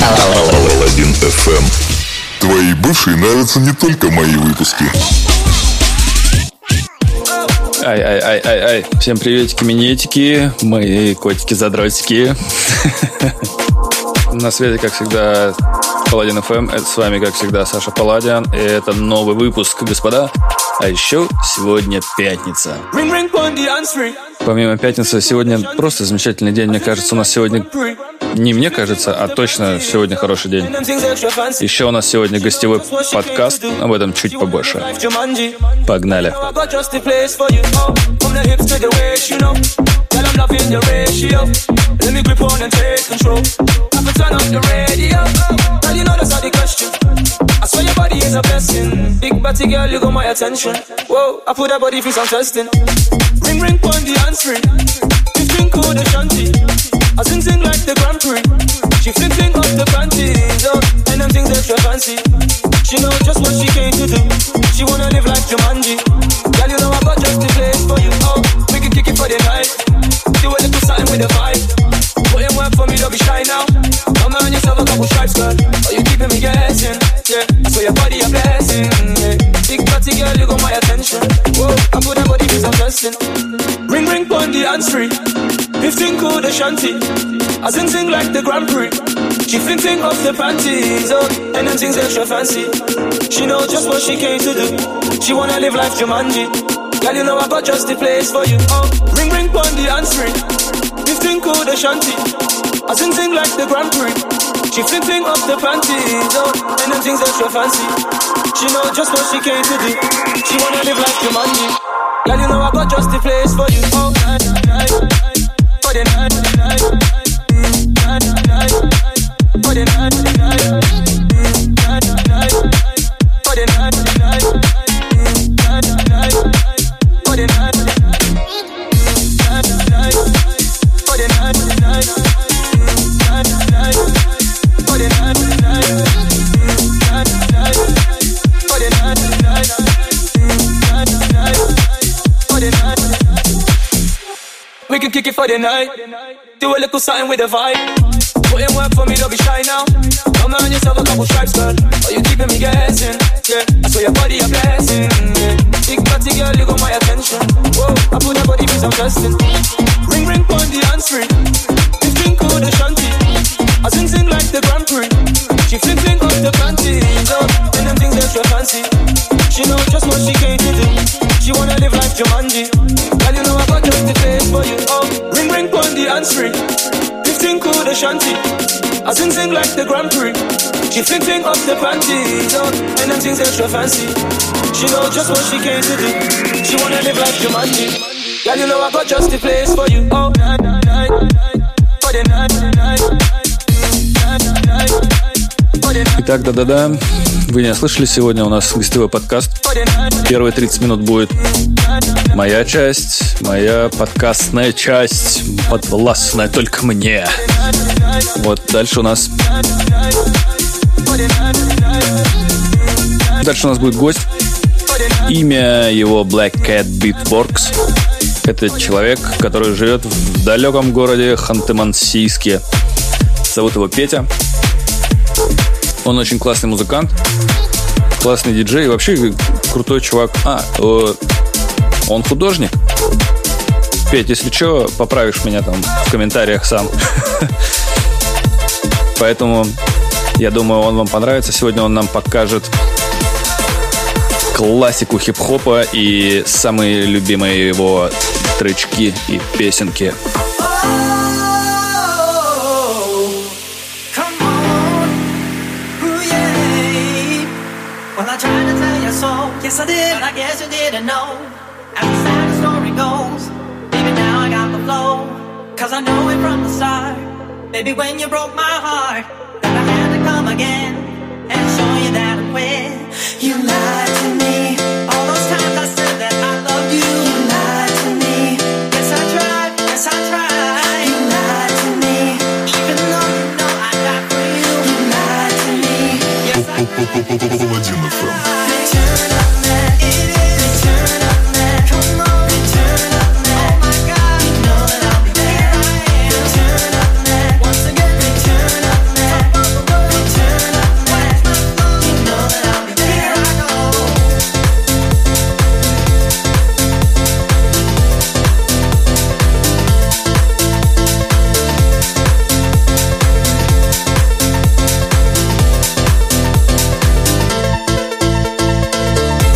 Паладин FM. Твои бывшие нравятся не только мои выпуски. Ай. Всем приветики, минетики, мои котики-задротики. На связи, как всегда, Паладин FM. Это с вами, как всегда, Саша Паладин. И это новый выпуск, господа. А еще сегодня пятница. Помимо пятницы, сегодня просто замечательный день. Мне кажется, у нас сегодня... Не мне кажется, а точно сегодня хороший день. Еще у нас сегодня гостевой подкаст. Об этом чуть побольше. Погнали. I swear your body is a blessing. Big body girl, you got my attention. Whoa, I put that body for some testing. Ring on the answering. 15 code shanty. I sing like the Grand Prix. She fling off the panties, oh, and them things extra fancy. She know just what she came to do. She wanna live like Jumanji. Girl, you know I got just the place for you. Oh, we can kick it for the night. Do a little something with the vibe. Put in work for me, don't be shy now. Come on yourself a couple stripes, girl. Oh, you keeping me guessing. Yeah, I swear your body a blessing. Yeah. Big body girl, you got my attention. Whoa, I put that body for some testing. Ring on the answering. 15 code shanty. I sing like the Grand Prix. She fling off the panties, oh, and them things extra fancy. She know just what she came to do. She wanna live life Jumanji. Girl, you know I got just the place for you. Oh, ring on the answering. 15 code shanty. I sing like the Grand Prix. She fling off the panties, oh, and them things extra fancy. She know just what she came to do. She wanna live like Jumanji. Girl, you know I got just the place for you. Oh, night. For the night. For the night. We can kick it for the night. Do a little something with the vibe. Put in work for me, don't be shy now. Come on yourself a couple stripes, girl. Oh, you keeping me guessing. Yeah, I swear your body a blessing. Yeah. Big body girl, you got my attention. Whoa, I put that body for some testing. Ring on the answering. 15 code shanty. I sing like the Grand Prix. She fling off the panties, oh, and them things extra fancy. She know just what she came to do. She wanna live like Jumanji. Girl, you know I got just the place for you. Oh, ring on the answering. 15 code shanty. I sing like the Grand Prix. She fling off the panties, oh, and them things extra fancy. She know just what she came to do. She wanna live like Jumanji. Girl, you know I got just the place for you. Oh, night. For the night. Итак, да-да-да, вы не слышали, сегодня у нас гостевой подкаст. Первые 30 минут будет моя часть, моя подкастная часть, подвластная только мне. Вот, дальше у нас будет гость. Имя его Black Cat Beatworks. Это человек, который живет в далеком городе Ханты-Мансийске. Зовут его Петя. Он очень классный музыкант, классный диджей и вообще крутой чувак. Он художник. Петь, если что, поправишь меня там в комментариях сам. Поэтому, я думаю, он вам понравится. Сегодня он нам покажет классику хип-хопа и самые любимые его тречки и песенки. Yes, I did, I guess you didn't know. And the sad story goes, baby, now I got the flow. Cause I know it from the start, baby, when you broke my heart, that I had to come again and show you that I'm with. You lied to me, all those times I said that I loved you. You lied to me, yes I tried, yes I tried. You lied to me, even though you know I died for you. You lied to me, yes I tried. Паладин FM.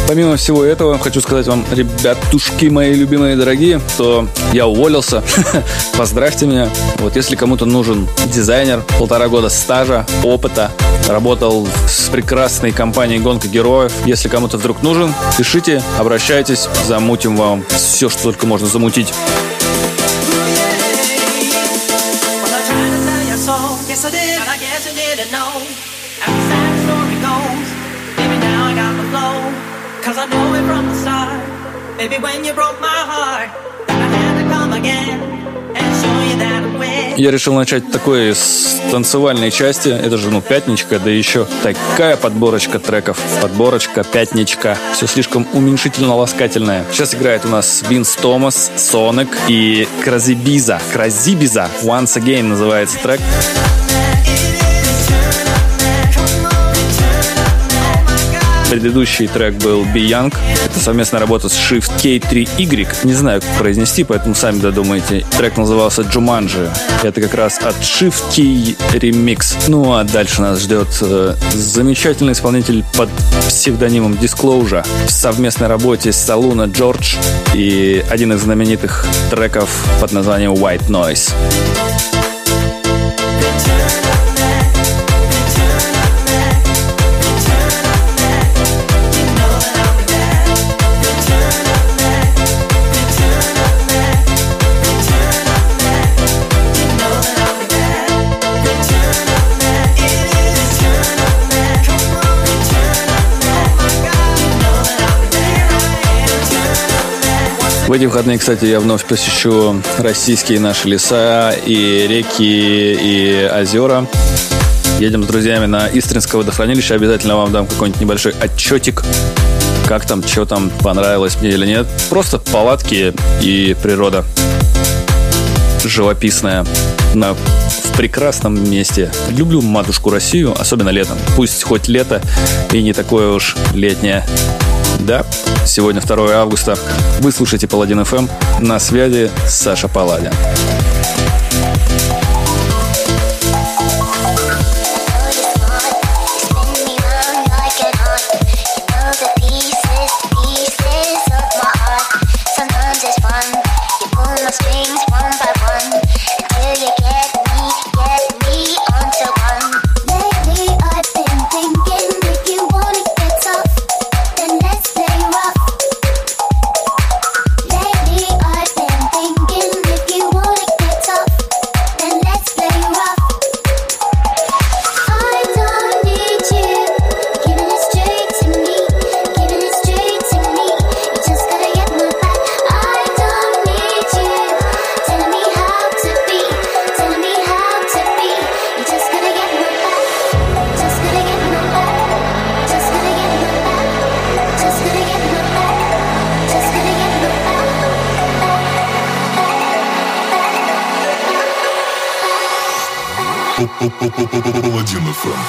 Помимо всего этого, хочу сказать вам, ребятушки мои любимые дорогие, что я уволился. Поздравьте меня. Вот если кому-то нужен дизайнер, 1,5 года стажа, опыта, работал с прекрасной компанией «Гонка героев». Если кому-то вдруг нужен, пишите, обращайтесь, замутим вам все, что только можно замутить. Я решил начать такой с танцевальной части. Это же, пятничка, да еще такая подборочка треков. Подборочка, пятничка. Все слишком уменьшительно-ласкательное. Сейчас играет у нас Винс Томас, Соник и Кразибиза. Once Again называется трек. Предыдущий трек был Be Young. Это совместная работа с Shift K3Y. Не знаю, как произнести, поэтому сами додумайте. Трек назывался Jumanji. Это как раз от Shift K Remix. Ну а дальше нас ждет замечательный исполнитель под псевдонимом Disclosure в совместной работе с Saluna George и один из знаменитых треков под названием White Noise. В эти выходные, кстати, я вновь посещу российские наши леса и реки, и озера. Едем с друзьями на Истринское водохранилище. Обязательно вам дам какой-нибудь небольшой отчетик. Как там, что там, понравилось мне или нет. Просто палатки и природа живописная в прекрасном месте. Люблю матушку Россию, особенно летом. Пусть хоть лето и не такое уж летнее. Да, сегодня 2 августа. Вы слушаете Паладин FM. На связи Саша Паладин. Паладин FM.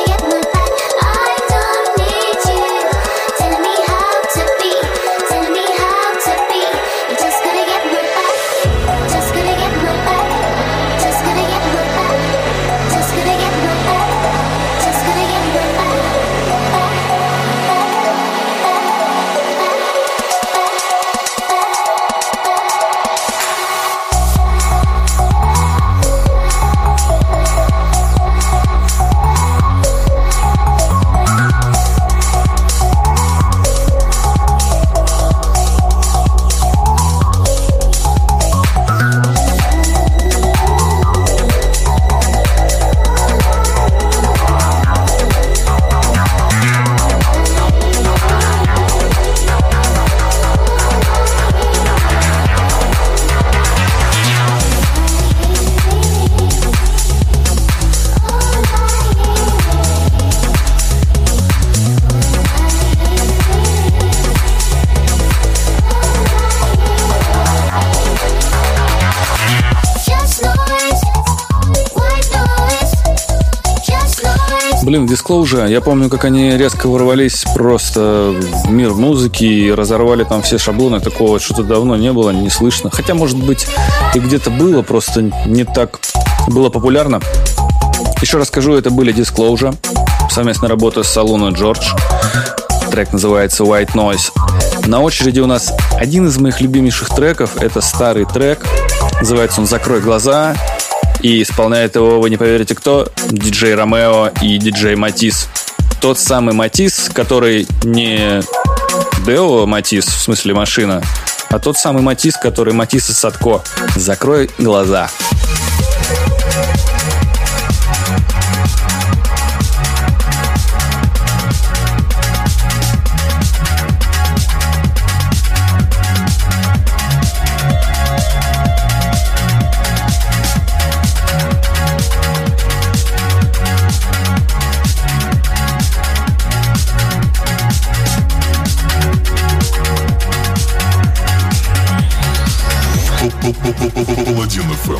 Tell me Блин, Disclosure, я помню, как они резко ворвались просто в мир музыки и разорвали там все шаблоны. Такого что-то давно не было, не слышно. Хотя, может быть, и где-то было, просто не так было популярно. Еще раз скажу, это были Disclosure. Совместная работа с Salon и George. Трек называется White Noise. На очереди у нас один из моих любимейших треков. Это старый трек. Называется он «Закрой глаза». И исполняет его, вы не поверите, кто? Диджей Ромео и диджей Матис. Тот самый Матис, который не Део Матис, в смысле машина, а тот самый Матис, который Матис из Садко. «Закрой глаза». Паладин FM.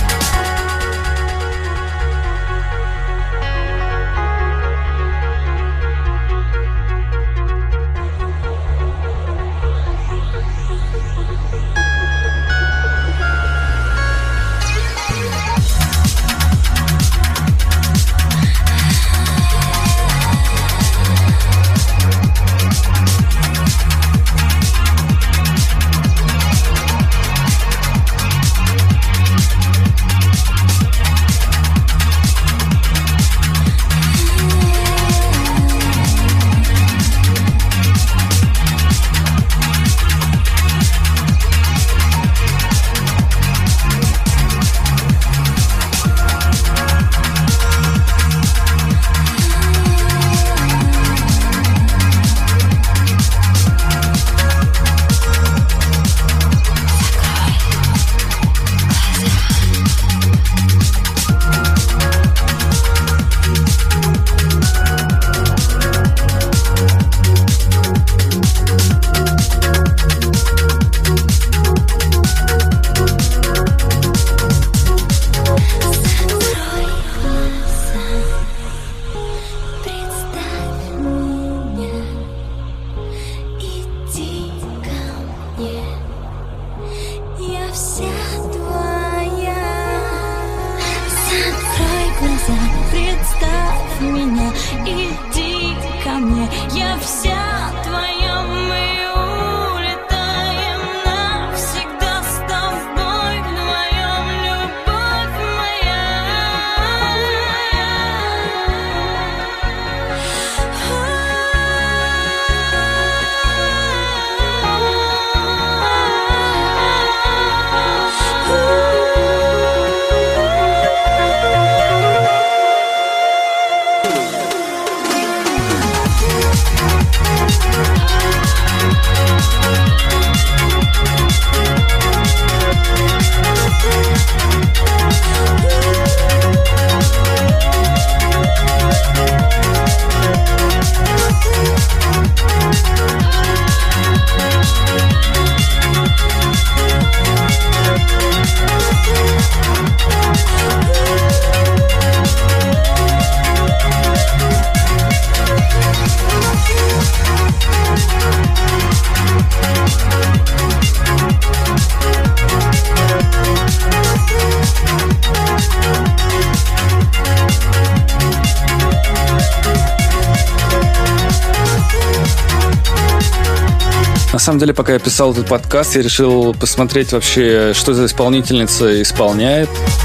На самом деле, пока я писал этот подкаст, я решил посмотреть вообще, что за исполнительница исполняет.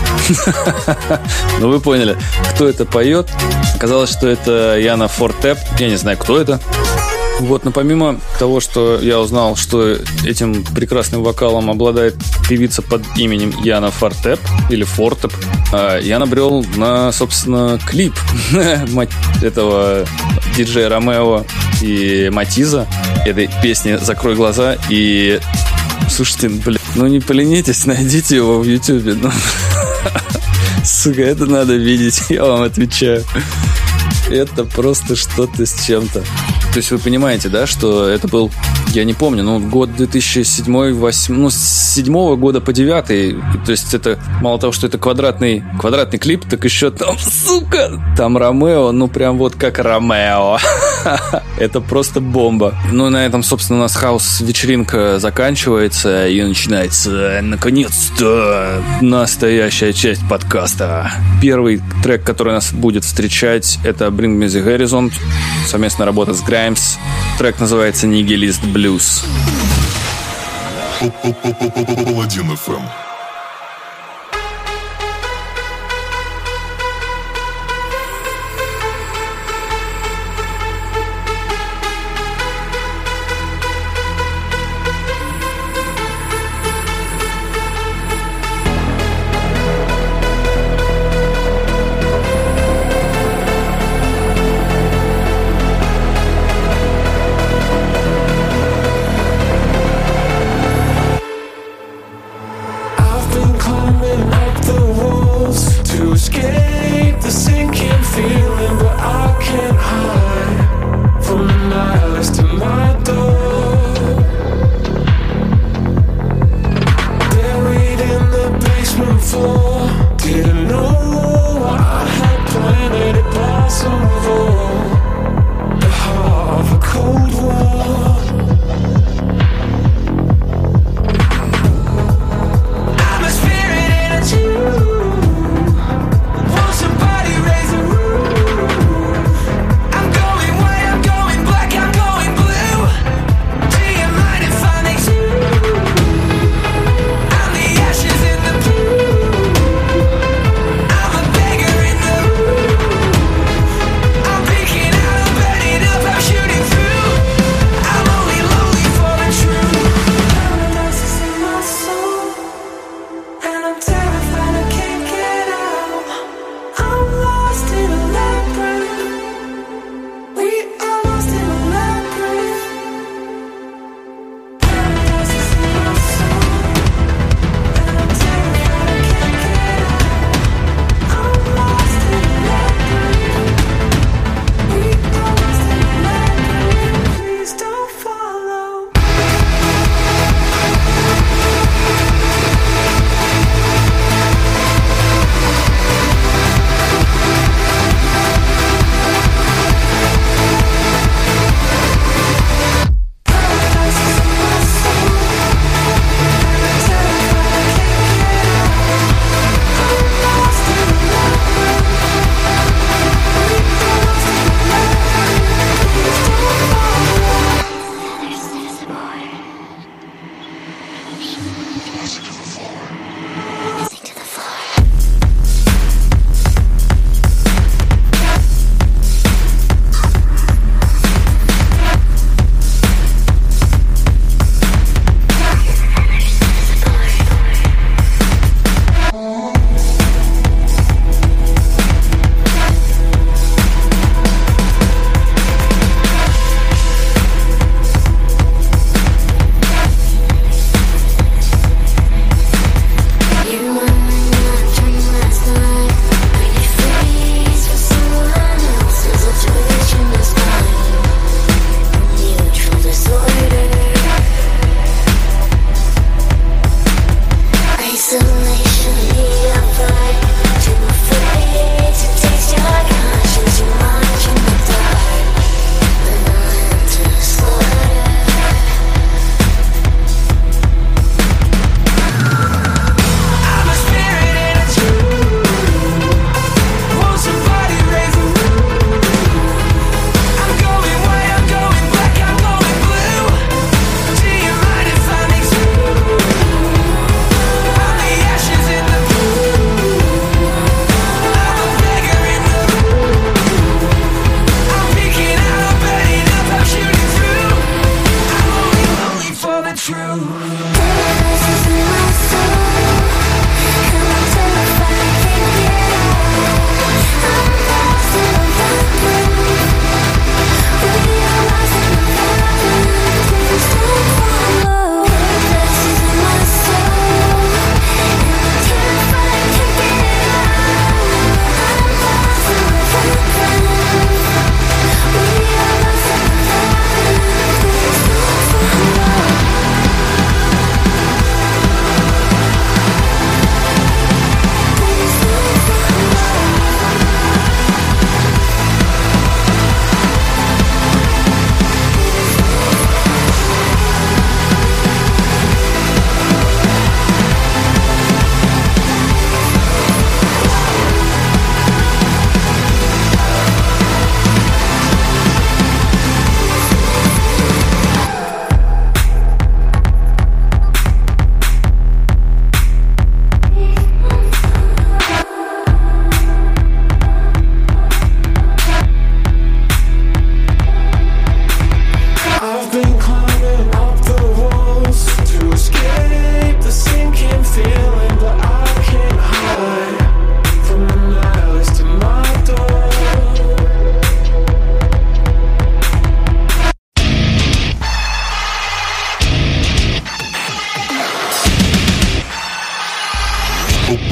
Ну, вы поняли, кто это поет. Оказалось, что это Яна Фортеп. Я не знаю, кто это. Вот, но помимо того, что я узнал, что этим прекрасным вокалом обладает певица под именем Яна Фортеп или Фортеп, я набрел на, собственно, клип этого диджея Ромео и Матиза, этой песни «Закрой глаза». И, слушайте, блин, ну не поленитесь, найдите его в Ютубе. Ну, сука, это надо видеть, я вам отвечаю. Это просто что-то с чем-то. То есть вы понимаете, да, что это был, я не помню, год 2007-2008, с 7 года по 9. То есть это мало того, что это квадратный клип, так еще там, сука, там Ромео, прям вот как Ромео. Это просто бомба. На этом, собственно, у нас хаус-вечеринка заканчивается и начинается, наконец-то, настоящая часть подкаста. Первый трек, который нас будет встречать, это Bring Me The Horizon, совместная работа с Grimes. Трек называется Nihilist Blues. Паладин FM.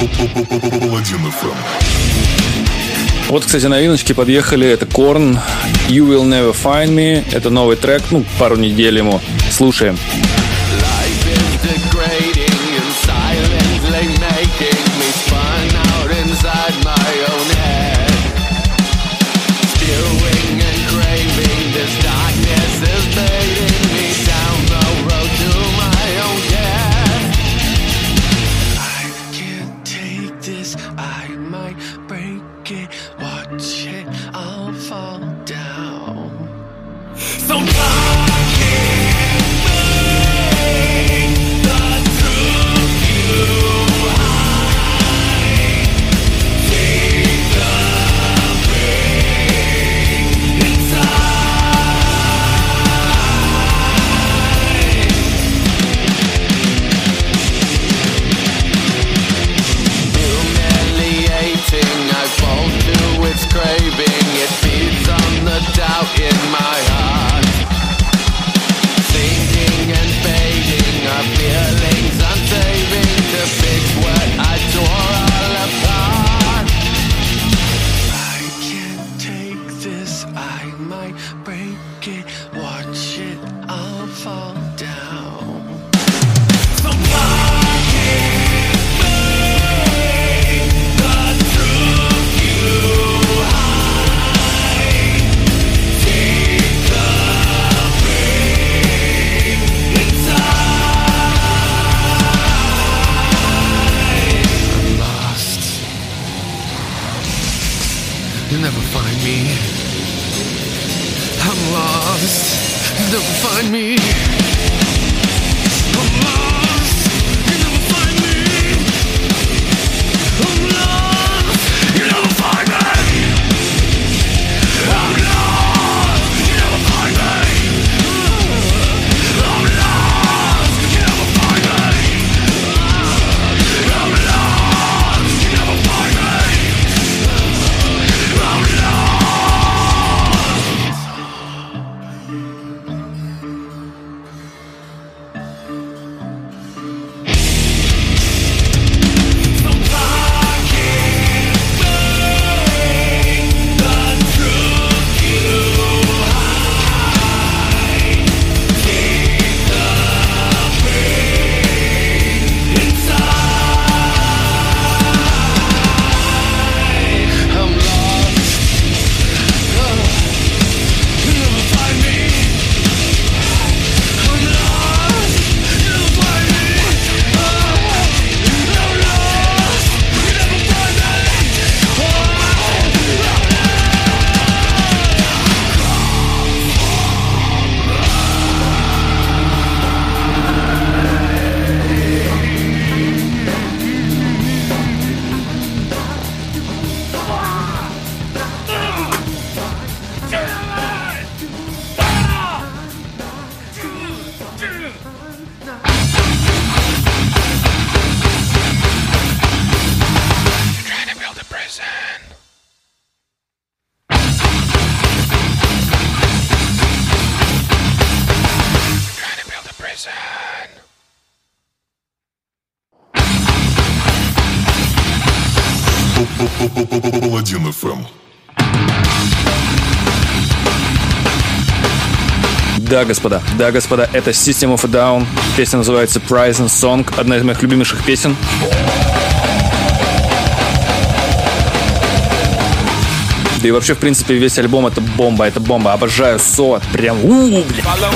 Паладин FM. Вот, кстати, новиночки подъехали. Это Korn, You Will Never Find Me. Это новый трек, пару недель ему. Слушаем. Паладин FM. Да, господа, это System of a Down. Песня называется Prison Song, одна из моих любимейших песен. Да и вообще, в принципе, весь альбом это бомба. Обожаю соло. Прям бля.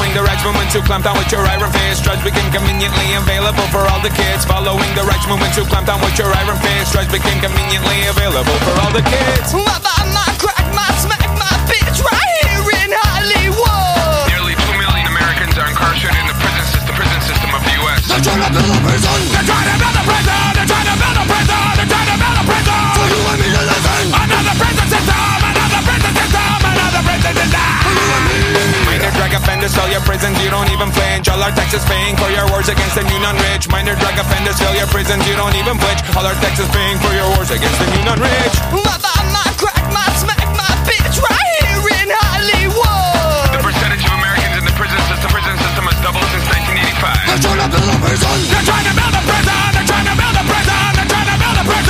They're trying to build a prison. They're trying to build a prison. They're trying to build a prison. They're trying to build a prison. For you and me to live in. Another prison system. Another prison system. Another prison system. For you and me. Minor drug offenders fill your prisons. You don't even flinch. All our taxes paying for your wars against the new non-rich. Minor drug offenders fill your prisons. You don't even flinch. All our taxes paying for your wars against the new non-rich. Mother, my crack, my smack, my bitch, right here in Hollywood. The percentage of Americans in the prison system has doubled since 1985. They're trying to build a prison. They're trying to build a prison. They're trying to build a prison. They're trying to build a prison.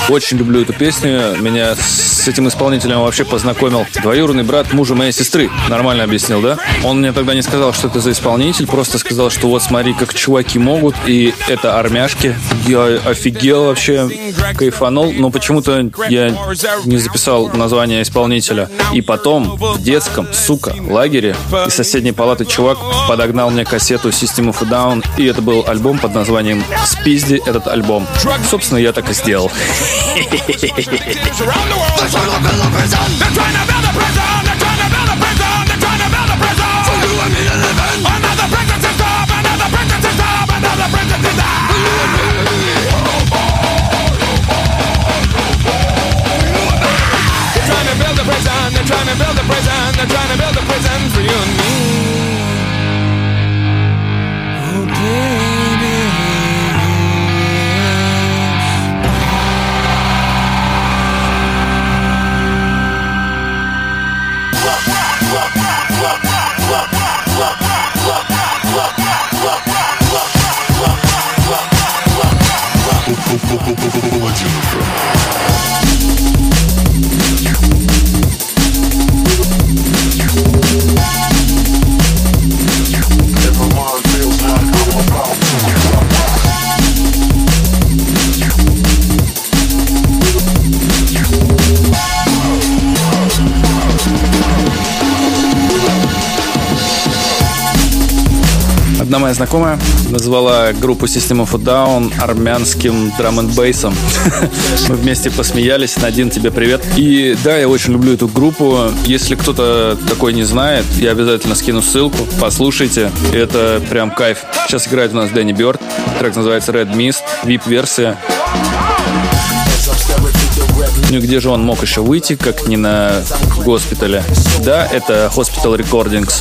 Очень люблю эту песню. Меня с этим исполнителем вообще познакомил двоюродный брат мужа моей сестры. Нормально объяснил, да? Он мне тогда не сказал, что это за исполнитель, просто сказал, что вот смотри, как чуваки могут, и это армяшки. Я офигел вообще, кайфанул, но почему-то я не записал название исполнителя. И потом в детском, сука, лагере из соседней палаты чувак подогнал мне кассету System of a Down, и это был альбом под названием «Спизди этот альбом». Собственно, я так и сделал. They're trying to build a prison. They're trying to build a prison for you and me. Oh, baby. Одна моя знакомая назвала группу System of a Down армянским драм-н-бейсом. Мы вместе посмеялись. Надин, тебе привет. И да, я очень люблю эту группу. Если кто-то такой не знает, я обязательно скину ссылку. Послушайте. Это прям кайф. Сейчас играет у нас Дэнни Бёрд. Трек называется Red Mist. VIP-версия. Ну и где же он мог еще выйти, как не на госпитале? Да, это Hospital Recordings.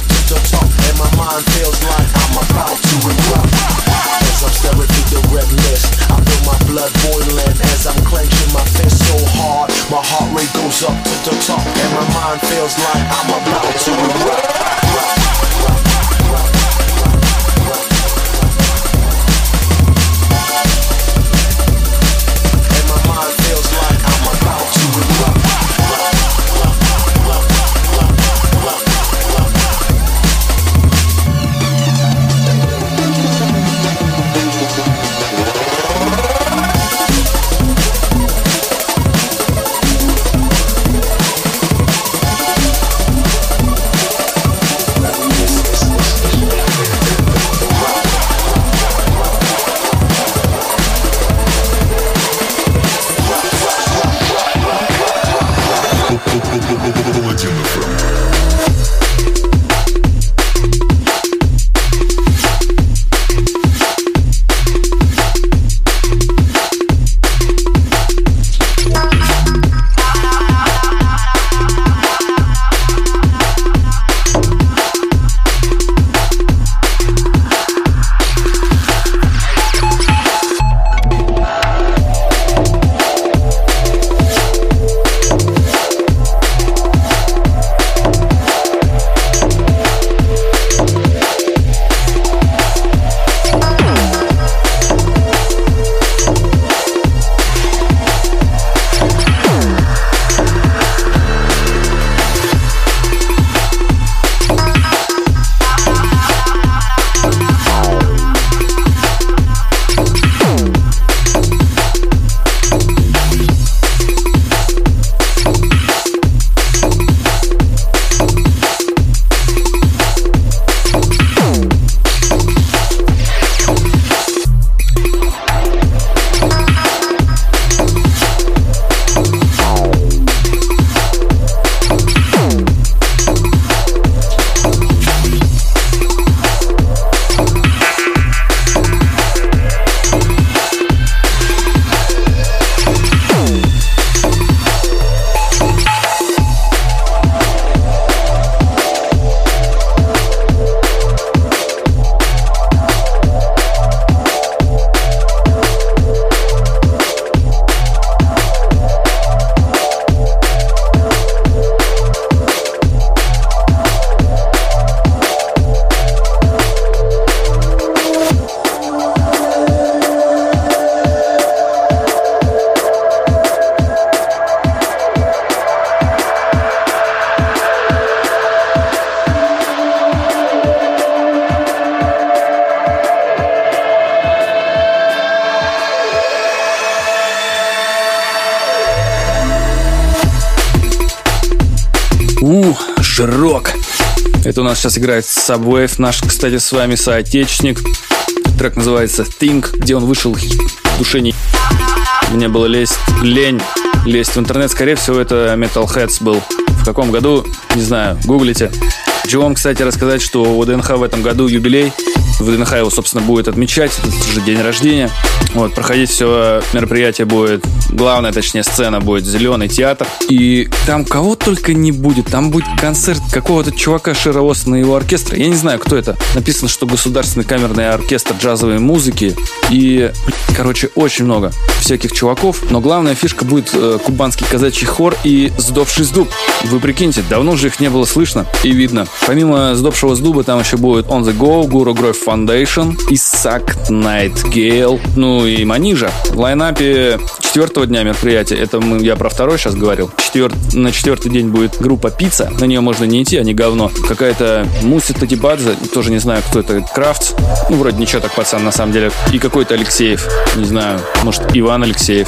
Жирок. Это у нас сейчас играет Subwave, наш, кстати, с вами соотечественник. Трек называется Think, где он вышел в душе не... Мне было лень лезть в интернет. Скорее всего, это Metalheads был. В каком году? Не знаю, гуглите. Хочу вам, кстати, рассказать, что у ДНХ в этом году юбилей. ВДНХ его, собственно, будет отмечать. Это же день рождения. Вот, проходить все мероприятие будет... Главная, точнее, сцена будет Зеленый театр. И там кого только не будет. Там будет концерт какого-то чувака Широосна и его оркестра. Я не знаю, кто это. Написано, что Государственный камерный оркестр джазовой музыки. И, короче, очень много всяких чуваков. Но главная фишка будет кубанский казачий хор и Сдобший Сдуб. Вы прикиньте, давно же их не было слышно и видно. Помимо Сдобшего Сдуба там еще будет On The Go, Guru Grove Foundation, Исаак Найтгейл, ну и Манижа. В лайнапе 4-го дня мероприятия, это я про 2-й сейчас говорил, на 4-й день будет группа Пицца, на нее можно не идти, они говно. Какая-то Муси Татибадзе, тоже не знаю, кто это, Крафтс, ну вроде ничего так, пацан, на самом деле. И какой-то Алексеев, не знаю, может Иван Алексеев.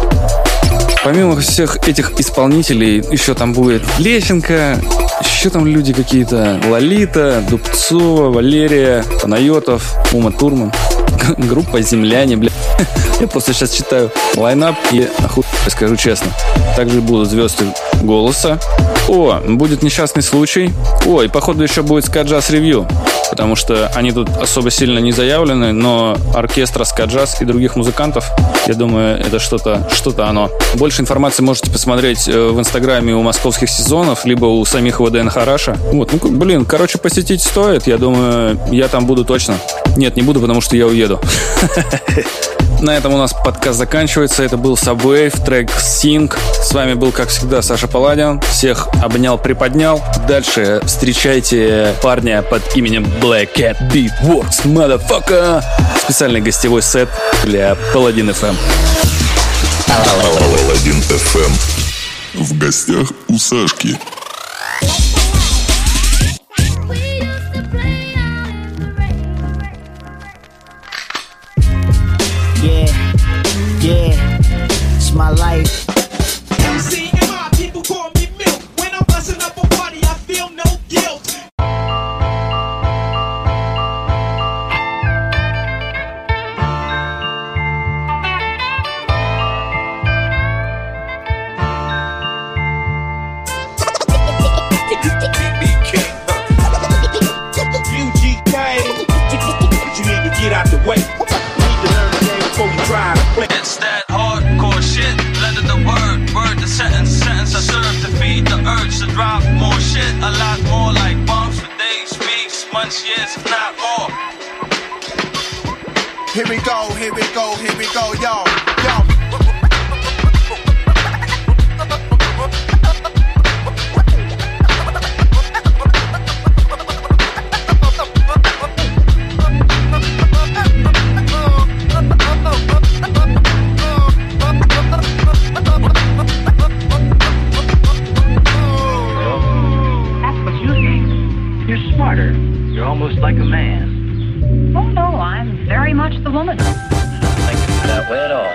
Помимо всех этих исполнителей, еще там будет Лещенко, еще там люди какие-то, Лолита, Дубцова, Валерия, Панайотов, Ума Турман. Группа «Земляне», бля. Я просто сейчас читаю лайнап и скажу честно. Также будут звезды «Голоса». О, будет «Несчастный случай». О, и походу еще будет «Скаджаз Ревью». Потому что они тут особо сильно не заявлены, но оркестра «Скаджаз» и других музыкантов, я думаю, это что-то оно. Больше информации можете посмотреть в инстаграме у московских сезонов, либо у самих ВДНХ Раша. Вот, ну, блин, короче, посетить стоит. Я думаю, я там буду точно. Нет, не буду, потому что я уеду. На этом у нас подкаст заканчивается. Это был Subwave, трек Sing. С вами был, как всегда, Саша Паладин. Всех обнял, приподнял. Дальше встречайте парня под именем Black Cat Beatworks, motherfucker. Специальный гостевой сет для Паладин FM. Паладин FM. В гостях у Сашки. Yeah, it's my life. MC and my people call me Milk. When I'm busting up a party, I feel no guilt. UGK, you need to get out the way. It's that hardcore shit, letter the word the sentence I serve to feed the urge to drop more shit, a lot more like bombs for days, weeks, months, years, if not more. Here we go, yo. You're almost like a man. Oh no, I'm very much the woman. I don't think it's that way at all.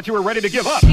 thought you were ready to give up.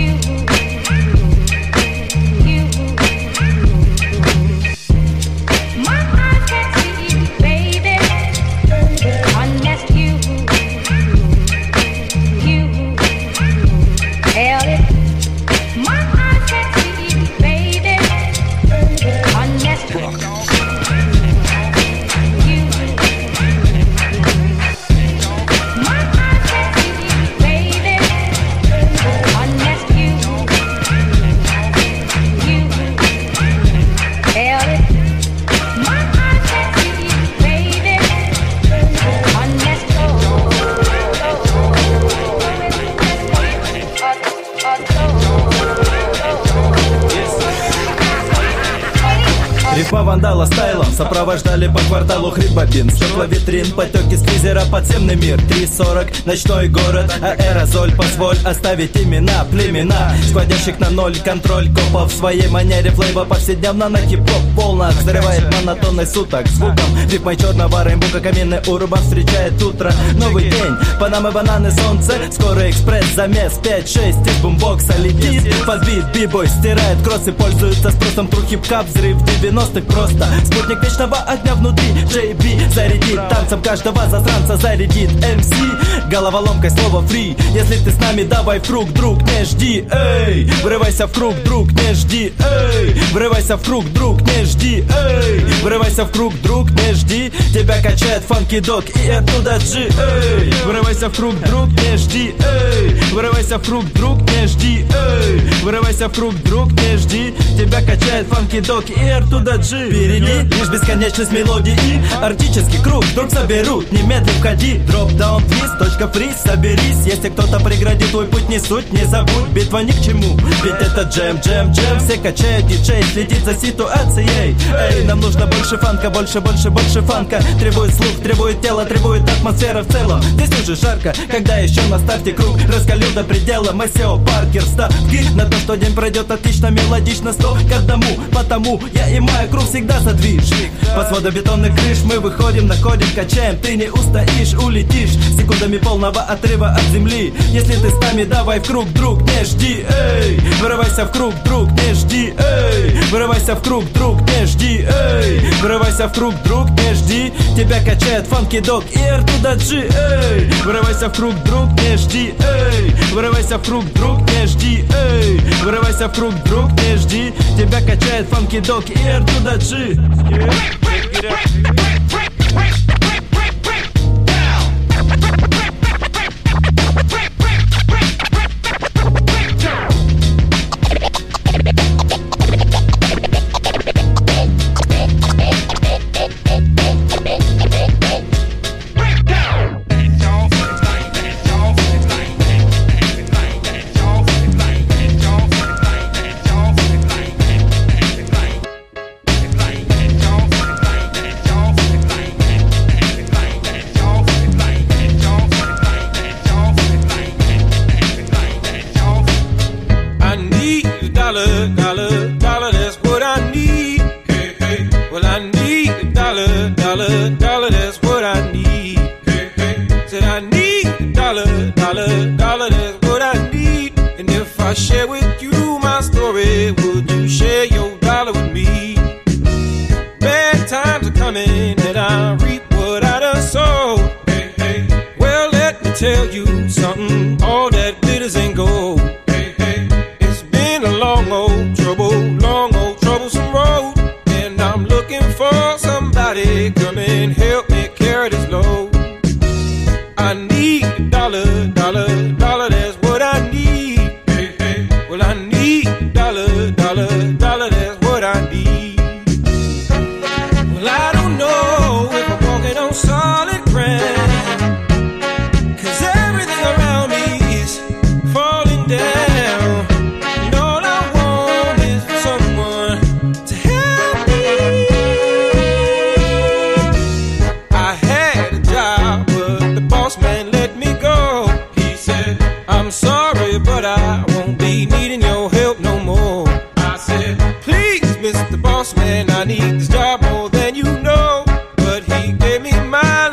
Рифма вандала стайлом сопровождали по кварталу хрипбобин. Стекла витрин, потеки с фризера, подземный мир. 3:40, ночной город, аэрозоль. Позволь оставить имена, племена складящих на ноль контроль копов. В своей манере флейба повседневно на хип-хоп полно взрывает монотонный суток звуком рифмой черного рейнбука. Каменный урба встречает утро, новый день. Панамы, бананы, солнце, скорый экспресс, замес 5-6 из бумбокса летит. Подбит, бибой стирает кроссы, пользуется спросом тру хип-хап, взрыв 90-х просто. Спутник вечного огня внутри, JB зарядит танцем каждого засранца, зарядит MC. Головоломка, слово фри. Если ты с нами, давай в круг, друг, не жди, эй. Врывайся в круг, друг, не жди, эй. Врывайся в круг, друг, не жди, эй. Врывайся в круг, друг, не жди. Тебя качает фанки дог и оттуда G, эй. Врывайся в круг, друг, не жди, эй. Врывайся в круг, друг, не жди, эй. Врывайся в круг, друг, не жди. Тебя качает фанки дог и оттуда G. Впереди лишь бесконечность мелодии и арктический круг вдруг соберут. Немедленно входи, дроп-даун, твист, точка фриз, соберись. Если кто-то преградит твой путь, не суть, не забудь, битва ни к чему. Ведь это джем, джем, джем. Все качают, диджей следит за ситуацией. Эй, нам нужно больше фанка, больше, больше, больше фанка. Требует слух, требует тело, требует атмосфера в целом. Здесь уже жарко, когда еще на старте круг раскалю до предела. Масео Паркер, ставки на то, что день пройдет отлично, мелодично, 100 к 1. Потому я и моя круг всегда задвижник. Под сводом бетонных крыш мы выходим, находим, качаем. Ты не устоишь, улетишь секундами полного отрыва от земли. Если ты с нами, давай в круг, друг, не жди, эй. Врывайся в круг, друг, не жди, эй. Врывайся в круг, друг, не жди, эй. Врывайся в круг, друг, не жди. Тебя качает фанки дог и R туда G, эй. Врывайся в круг, друг, не жди, эй. Врывайся в круг, друг, не жди, эй. Врывайся в круг, друг, не жди. Тебя качает фанки дог и R туда G.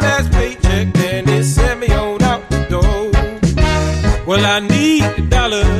Well, I need $1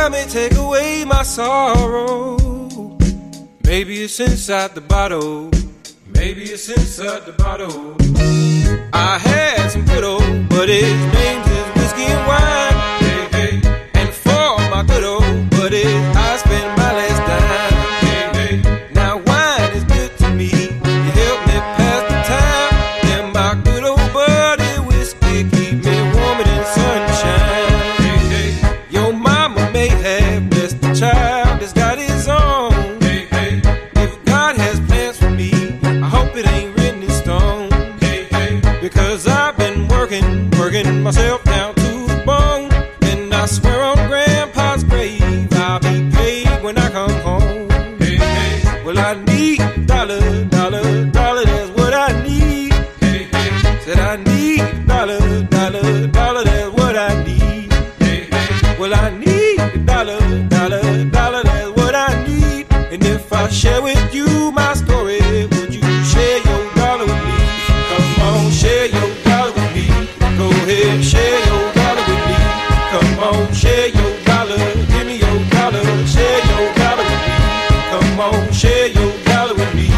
time may take away my sorrow. Maybe it's inside the bottle. Maybe it's inside the bottle. I had some good old buddies, names is whiskey and wine. Hey, hey. And for my good old buddies, I spent my last dime. Hey, hey. Now wine is good to me. It helped me pass the time. And my good old buddy whiskey keep me warmer than sunshine. Hey, hey. Your mama may have blessed the child that's got his own. Hey, hey. If God has plans for me, I hope it ain't written in stone. Hey, hey. Because I've been working myself down to the bone. And I swear on Grandpa's grave, I'll be paid when I come home. Hey, hey. Well, I need dollar, that's what I need. Hey, hey. Said I need dollar, that's what I need. Hey, hey. Well, I need dollar, that's what I need. And if I share with you my story, would you share your dollar with me? Come on, share your dollar with me. Go ahead, share your dollar with me. Come on, share your dollar. Give me your dollar. Share your dollar with me. Come on, share your dollar with me.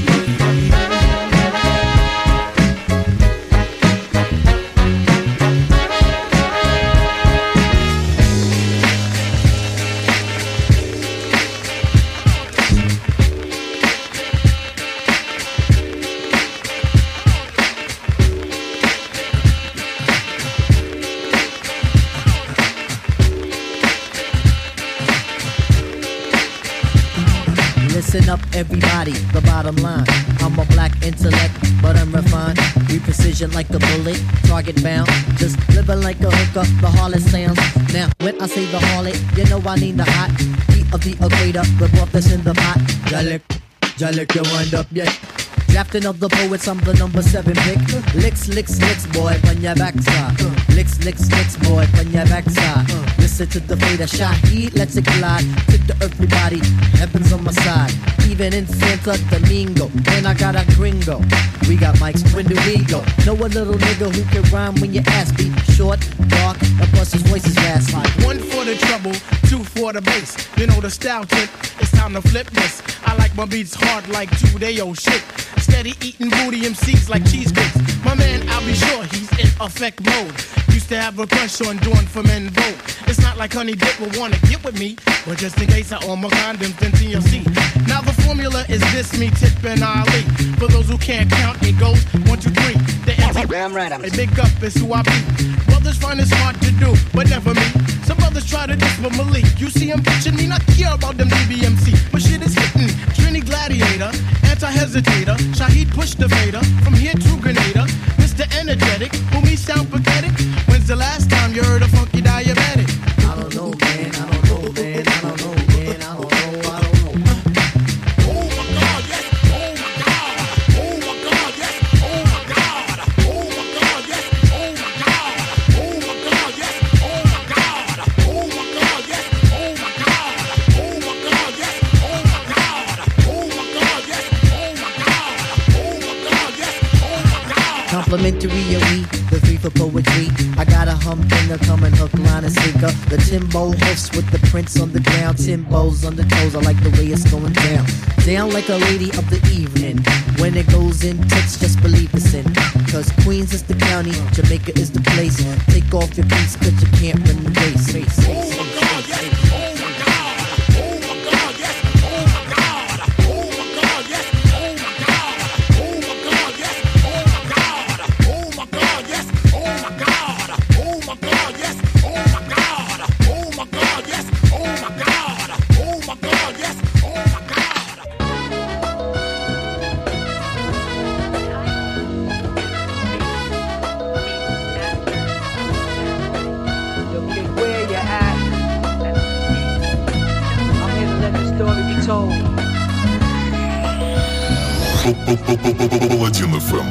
Listen up, everybody, the bottom line. I'm a black intellect, but I'm refined. We precision like a bullet, target bound. Just living like a hooker, the harlot sounds. Now, when I say the harlot, you know I need the hot heat of the equator. Rip off this in the pot. Jalik, you wind up, yeah. Drafting of the poets, I'm the number 7 pick. Licks, boy, on your backside. Licks, boy, on your backside. Listen to the fader shot, heat, let's it glide. Tip the earthly body, heaven's on my side. Even in Santo Domingo, and I got a gringo. We got mics, when do we go? Know a little nigga who can rhyme when your ass be short, dark, and plus his voice is fast. Like 1 for the trouble, 2 for the bass. You know the style tip, it's time to flip this. I like my beats hard like 2-day-old shit. Steady eating booty MCs like cheesecakes. My man, I'll be sure he's in effect mode. Used to have a crush on doing for men vote. It's not like Honey Dip will wanna get with me, but just in case I own my condoms, then TLC. Now the formula is this, me, Tip, and Ali. For those who can't count, it goes 1, 2, 3. The damn right, I'm a big up is who I be. Brothers find it hard to do, but never me. Some brothers try to diss with Malik. You see him bitching me, not care about them DBMC. But shit is hitting. Trini Gladiator, anti-hesitator. Shaheed push the fader, from here to Grenada. Mr. Energetic, who me sound pathetic. When's the last time you heard a funky diabetic? I don't know, man, I don't know, man, I don't know, man, I don't know, I don't know. Oh my God, yes, oh my God, oh my God, yes, oh my God, oh my God, yes, oh my God, oh my God, yes, oh my God, oh my God, yes, oh my God, oh my God, yes, oh my God, oh my God, yes, oh my God, oh my God, yes, oh my God. Complimentary of me, the free for poetry. I got a humdinger coming hook, line, and sinker. The Timbo hoofs with the prints on the ground. Timbos on the toes, I like the way it's going down. Down like a lady of the evening. When it goes in tits, just believe it's in. Cause Queens is the county, Jamaica is the place. Take off your boots cause you can't run the race. Oh my God, yes, oh my God, oh my God, yes, oh my God, oh my God, yes, oh my God, oh my God, yes, oh my God, oh my God, yes, oh my God, oh my God, yes, oh my God, oh my God, yes, oh my God, oh my God, yes, oh my God. Where you at? I'm here to let the story be told. Паладин FM.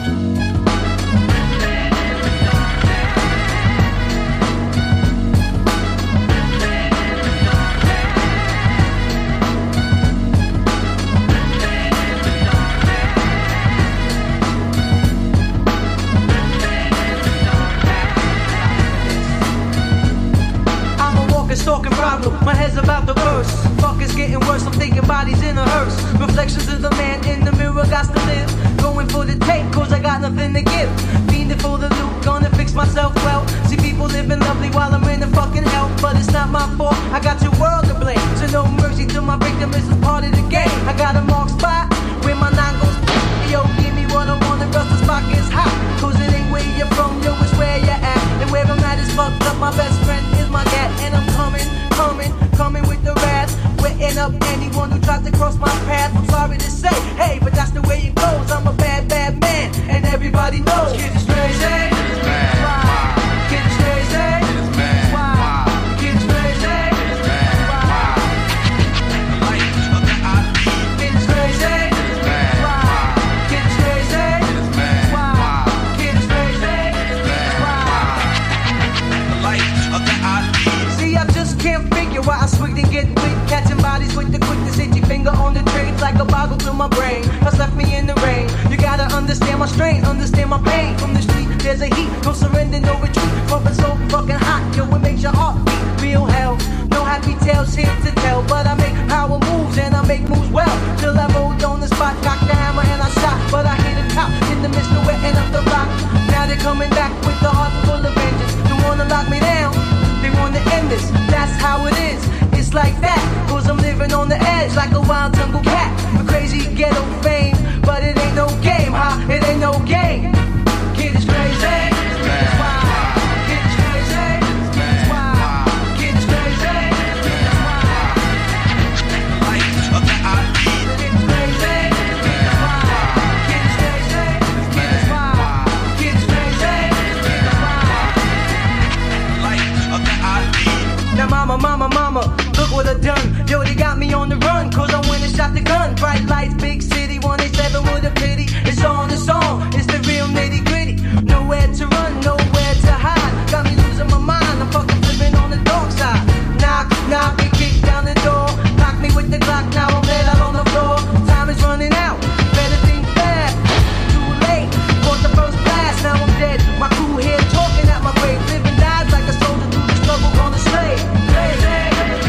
I'm a walking, stalking, robbing boggle, my head's about to burst. Fuck is getting worse, I'm thinking bodies in a hearse. Reflections of the man in the mirror, got to live. Going for the tape, cause I got nothing to give. Fiending for the loot, gonna fix myself well. See people living lovely while I'm in the fucking hell. But it's not my fault, I got your world to blame. So no mercy to my victim, this is part of the game. I got a marked spot, where my nine goes. Yo, give me what I want, the rest of the spot gets hot. Cause it ain't where you're from, yo, it's where you're at. And where I'm at is fucked up, my best friend is my cat. And I'm coming with the wrath. Wetting up anyone who tries to cross my path. I'm sorry to say, hey, but that's the way it goes. I'm a bad, bad man, and everybody knows. Kid is crazy. Wow. Kid is crazy. Wow. Kid is crazy. Wow. Kid is crazy. Wow. Kid is crazy. Wow. Kid is crazy. Wow. See, I just can't figure why I swig and get quick. Catching bodies with the quickness, itchy finger on the trigger like a boggle to my brain. Has left me in the rain. You gotta understand my strain, understand my pain. From the street, there's a heat, no surrender, no retreat. Pumping so fucking hot, yo, it makes your heart beat. Real hell, no happy tales here to tell. But I make power moves and I make moves well. Till I rolled on the spot, cocked the hammer and I shot. But I hit a top in the midst of wetting up the block. Now they're coming back with the heart full of vengeance. They wanna lock me down, they wanna end this. That's how it is. It's like that, cause I'm living on the edge like a wild jungle cat. A crazy ghetto fame, but it ain't no game, huh? It ain't no game. Kid is crazy. Wow. Kid is crazy. Wow. Kid is crazy. Wow. Kid is crazy. Wow. Kid is crazy. Wow. Kid is crazy. Wow. Now mama, look what I done. Yo, they got me on the run, cause I went and shot the gun. Bright lights, big city, 187 with a pity. It's on, it's the real nitty gritty. Nowhere to run, nowhere to hide. Got me losing my mind, I'm fucking flipping on the dark side. Knock, knock, and kick down the door. Knock me with the Glock, now I'm laid out on the floor. Time is running out, better think fast. Too late, caught the first blast, now I'm dead. My crew here talking at my grave. Living dies like a soldier through the struggle on the slave. Crazy.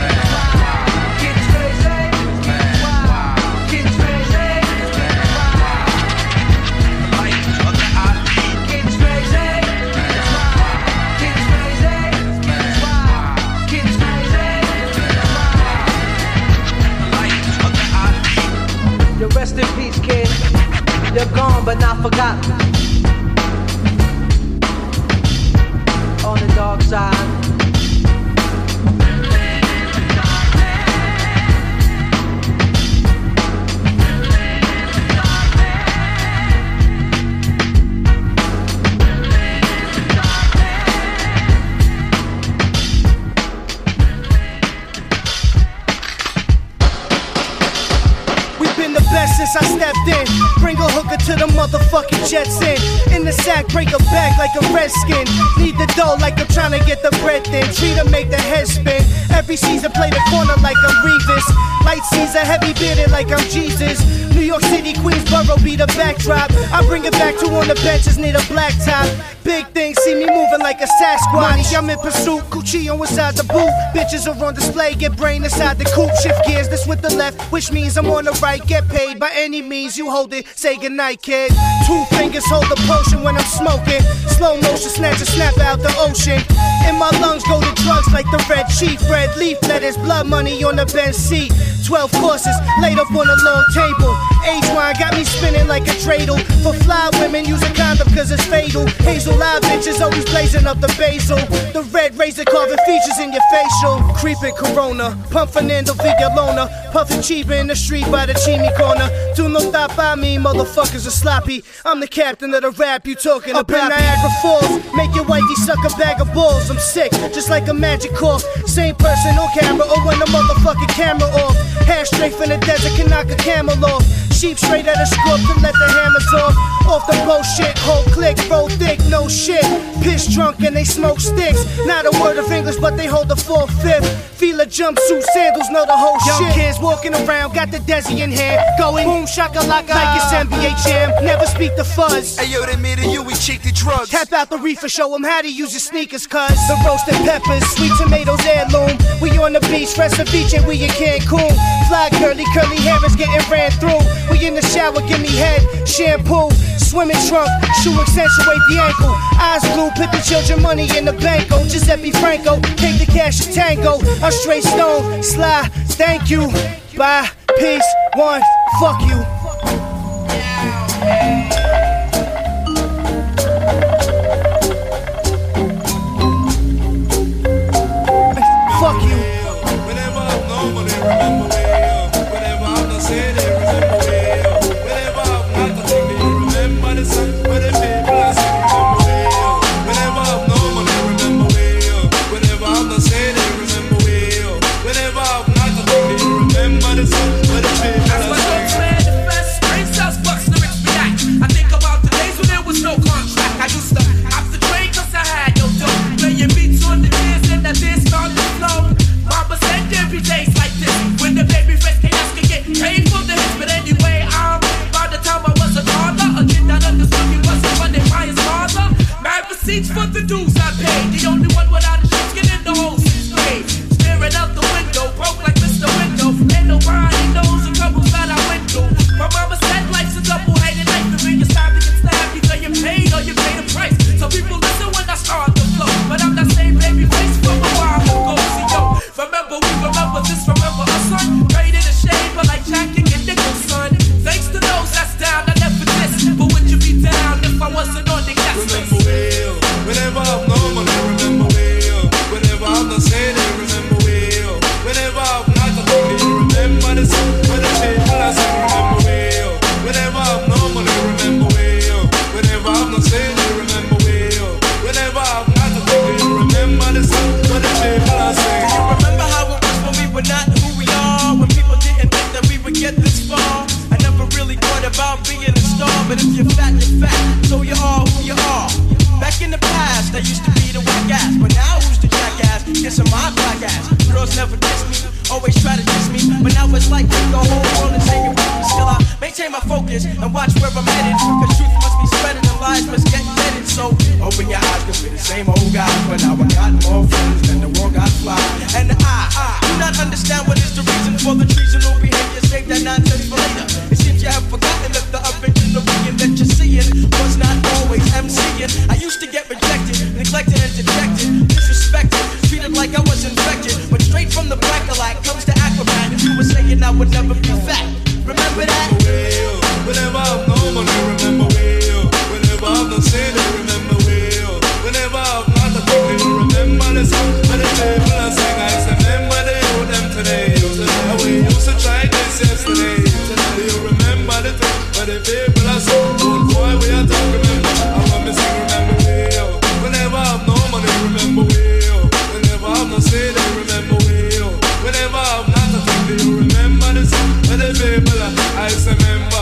Rest in peace, kid. You're gone, but not forgotten. On the dark side. Since I stepped in, bring a hooker to the motherfucking Jets in the sack, break a back like a redskin. Need the dough like I'm trying to get the bread thin. Treat her, make the head spin. Every season play the corner like I'm Revis. Light season, heavy bearded like I'm Jesus. New York City, Queensboro be the backdrop. I bring it back to on the benches, need a black top. Big things, see me moving like a Sasquatch. I'm in pursuit, Cuchillo inside the boot. Bitches are on display, get brain inside the coupe. Shift gears, this with the left, which means I'm on the right. Get paid by any means, you hold it, say goodnight, kid. Two fingers hold the potion when I'm smoking. Slow motion, snatch a snap out the ocean. In my lungs go the drugs like the red chief. Red leaf letters, blood money on the bench seat. 12 courses, laid up on a long table. Age wine got me spinning like a dreidel. For fly women, use a condom cause it's fatal. Hazel eye bitches always blazing up the basil. The red razor carving features in your facial. Creeping Corona, pump Fernando Villalona. Puffin' cheap in the street by the chimney corner. Do no stop by me, motherfuckers are sloppy. I'm the captain of the rap you talking about. Up in Niagara Falls, make your wifey suck a bag of balls. I'm sick, just like a magic cough. Same person on camera or when the motherfucking camera off. Hair straight from the desert can knock a camel off. Sheep straight at a scope to let the hammers off the bullshit, whole click, roll thick, no shit. Piss drunk and they smoke sticks. Not a word of English, but they hold the 4/5. Feel a jumpsuit, sandals, know the whole shit. Young kids walking around, got the Desi in hand, going boom shakalaka like it's NBA Jam. Never speak the fuzz. Hey yo, they made you, we cheat the drugs. Tap out the reefer, show them how to use your sneakers, cuz the roasted peppers, sweet tomatoes, heirloom. We on the beach, fresh ceviche, we in Cancun. Fly girly, curly hair is getting ran through. We in the shower, give me head, shampoo. Swimming trunk, shoe accentuate the ankle. Eyes blue, put the children money in the banko. Giuseppe Franco, take the cash to tango. I'm straight stone, sly, thank you. Bye, peace, one, fuck you. Fuck you. Whenever I'm normally remember whenever I'm not saying it, remember whenever I'm not the thing, they remember the sun, where the people are saying, remember whenever I'm normally remember whenever I'm not saying it, remember whenever I'm not the thing, they remember the sun, where the people are saying. The best brain cells bucks lyrics react. I think about the days when there was no contract. I used to hop the train cause I had no dough. Playing beats on the ears and the dance started to flow. Mama said there be days like this when the baby face chaos could get paid for the hits. But anyway, by the time I was a toddler, a kid that understood me wasn't funded by his father. Mad receipts for the dues I paid. The only one without a skin in the whole 6th grade. Staring out the window, broke like Mr. Window. Ain't nobody knows the troubles that I went through. My mama said life's a double-headed knife. The biggest time to get stabbed, either you paid or you pay the price. So people listen when I start to flow, but I'm that same baby face from a while ago. See yo, remember this, remember us, son. Great in the shade, but like Jackie and Nicholson. Thanks to those that's down, I never diss. But would you be down if I wasn't on the gas list? Remember whenever I'm normally remember whenever I'm not saying it, remember whenever I'm not the thing, they remember the sun, where the people are saying, remember whenever I'm normally remember whenever I'm not saying it, remember whenever I'm not the thing, they remember the sun, where the people are saying. Do you remember how it was when we were not who we are? When people didn't think that we would get this far? I never really thought about being a star, but if you're fat, so you are who you are. Back in the past, I used to be the whack ass, but now who's the jackass? Kissing my black ass. Girls never diss me, always try to diss me, but now it's like the whole world is hanging with me. Still I maintain my focus and watch where I'm headed, cause truth must be spreaded and lies must get headed. So open your eyes, cause we're the same old guy, but now I got more friends than the world got fly. And I do not understand what is the reason for the treasonable behavior. Save that nonsense for later. It seems you have forgotten that the original being that you're seeing was not always MCing. I used to get rejected, neglected and dejected, disrespected, treated like I was infected. But straight from the black comes the Aquaman. If you were saying I would never be fat, remember that? Whenever I'm normally remember whenever I'm not saying it, remember whenever I'm not the thing, they remember the sun, where the people are saying, I remember they owe them today. And we used to try this yesterday. Do you remember the thing where the people are saying, oh boy, we are talking, remember. I want me to remember whenever I'm normally remember whenever I'm not saying it, remember whenever I'm not the thing, do you remember the sun, where the people are, I remember.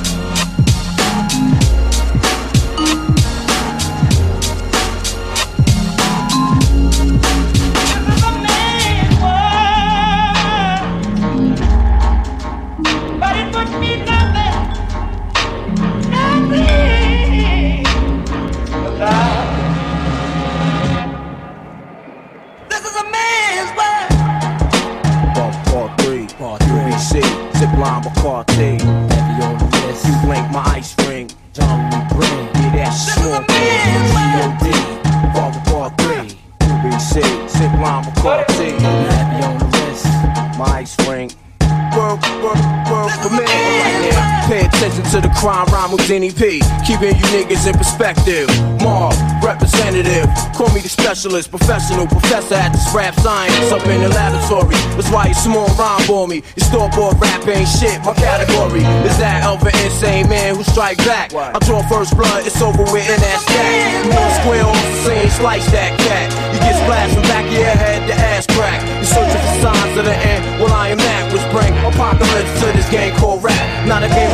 Zipline Bacardi, heavy on the list. You blink my ice ring, John Lee Green. Yeah, that's small G.O.D. Volvo Bar 3, UBC, Zipline Bacardi, heavy on the list. My ice ring. Work for me. Right now, pay attention to the crime rhyme with Denny P. Keeping you niggas in perspective. Marv, representative. Call me the specialist, professional professor at this rap science. Up in the laboratory. That's why you small rhyme for me. Your store-bought rap ain't shit. My category is that of an insane man who strike back. I draw first blood, it's over with and that's that. You know square off the scene, slice that cat. You get splashed from back of your head, the ass crack. You're searching for signs of the end. Well, I am that which bring apocalypse to this game called rap. Not a game of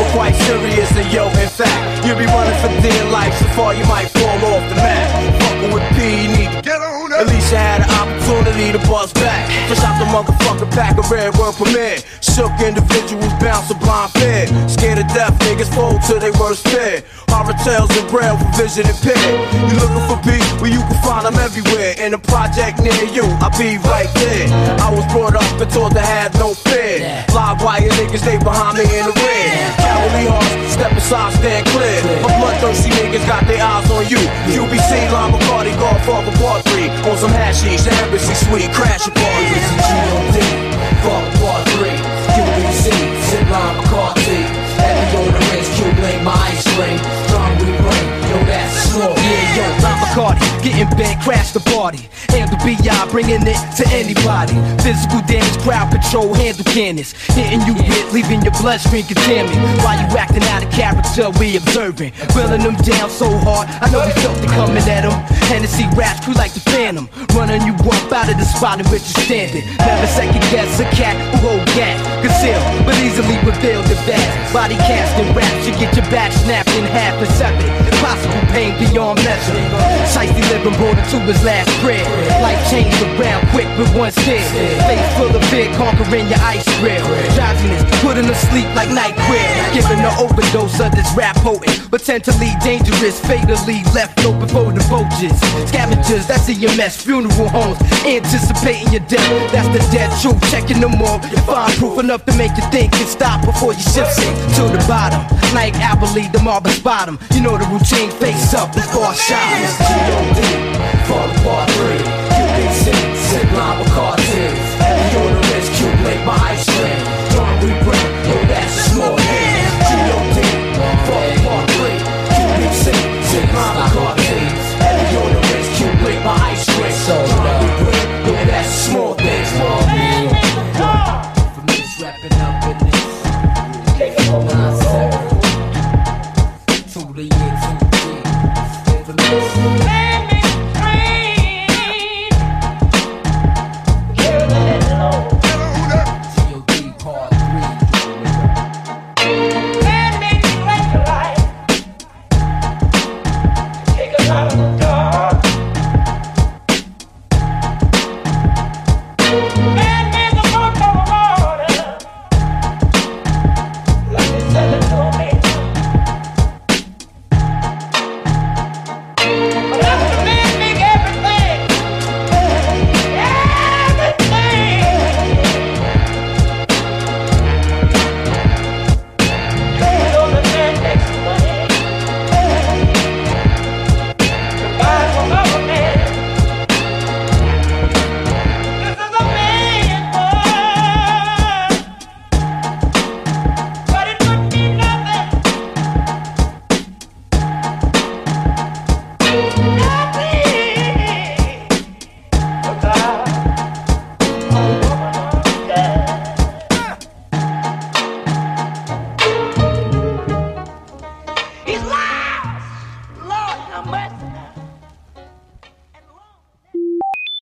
serious, and yo, in fact, you'll be running for dear life so far you might fall off the map. Fucking with P, you need to get on up. At least you had an opportunity to bust back. Fresh out the motherfucking pack of red word premiere. Shook individuals bounce a blind fear. Scared of death, niggas fold to their worst fear. Horror tales and braille for vision impaired. You looking for P, well you can find them everywhere. In a project near you, I'll be right there. I was brought up and taught to have no fear. Live wire niggas, they behind me in the rear. Cowardly hearts, step aside, stand clear. My bloodthirsty niggas got their eyes on you. QBC, Lime McCarty, Godfather Part 3. On some hashish, the embassy suite, crash a party. It's a G.O.D. Father Part 3. QBC, Zip Lime McCarty. Heavy on the wrist, Q-Blink, my ice ring. Strong we bring, yo that's slow. Yeah, yo, Lime McCarty, getting bent, crash the party. Handle B.I., bringing it to anybody. Physical damage, crowd control, handle cannons. Hitting you with, leaving your bloodstream contaminated. While you acting out of character, we observing. Wheeling them down so hard, I know we felt it coming at them. Hennessy raps, crew like the Phantom. Running you up out of the spot in which you're standing. Never second guess a cat who hold gas. Conceal, but easily reveal the bad. Body casting raps, you get your back snapped in half and severed. Impossible pain beyond measure. Shiesty living brought it to his last prayer. Life changed around quick with one stare. Face full of fear, conquering your ice grill. Drowsiness, putting to sleep like night queer. Giving an overdose of this rap potent, but tend to lead dangerous, fatally left open for the vultures. Scavengers, that's EMS, funeral homes, anticipating your death. That's the dead truth. Checking them all, you find proof enough to make you think and stop before you ship sink to the bottom. Like Abilene, the Marvin's bottom. You know the routine, face up before shot. It's G.O.D. Father Part 3. QBC, Zip Lime McCarty. Heavy on the wrist, Q-Blink, my ice cream. Strong we bring, yo that's small hand. G.O.D. Father Part 3. QBC, Zip Lime McCarty. Heavy on the wrist, Q-Blink, my ice cream. Strong we bring, yo that's small things. For me, it's wrapping up in this. To the year 2G. Man,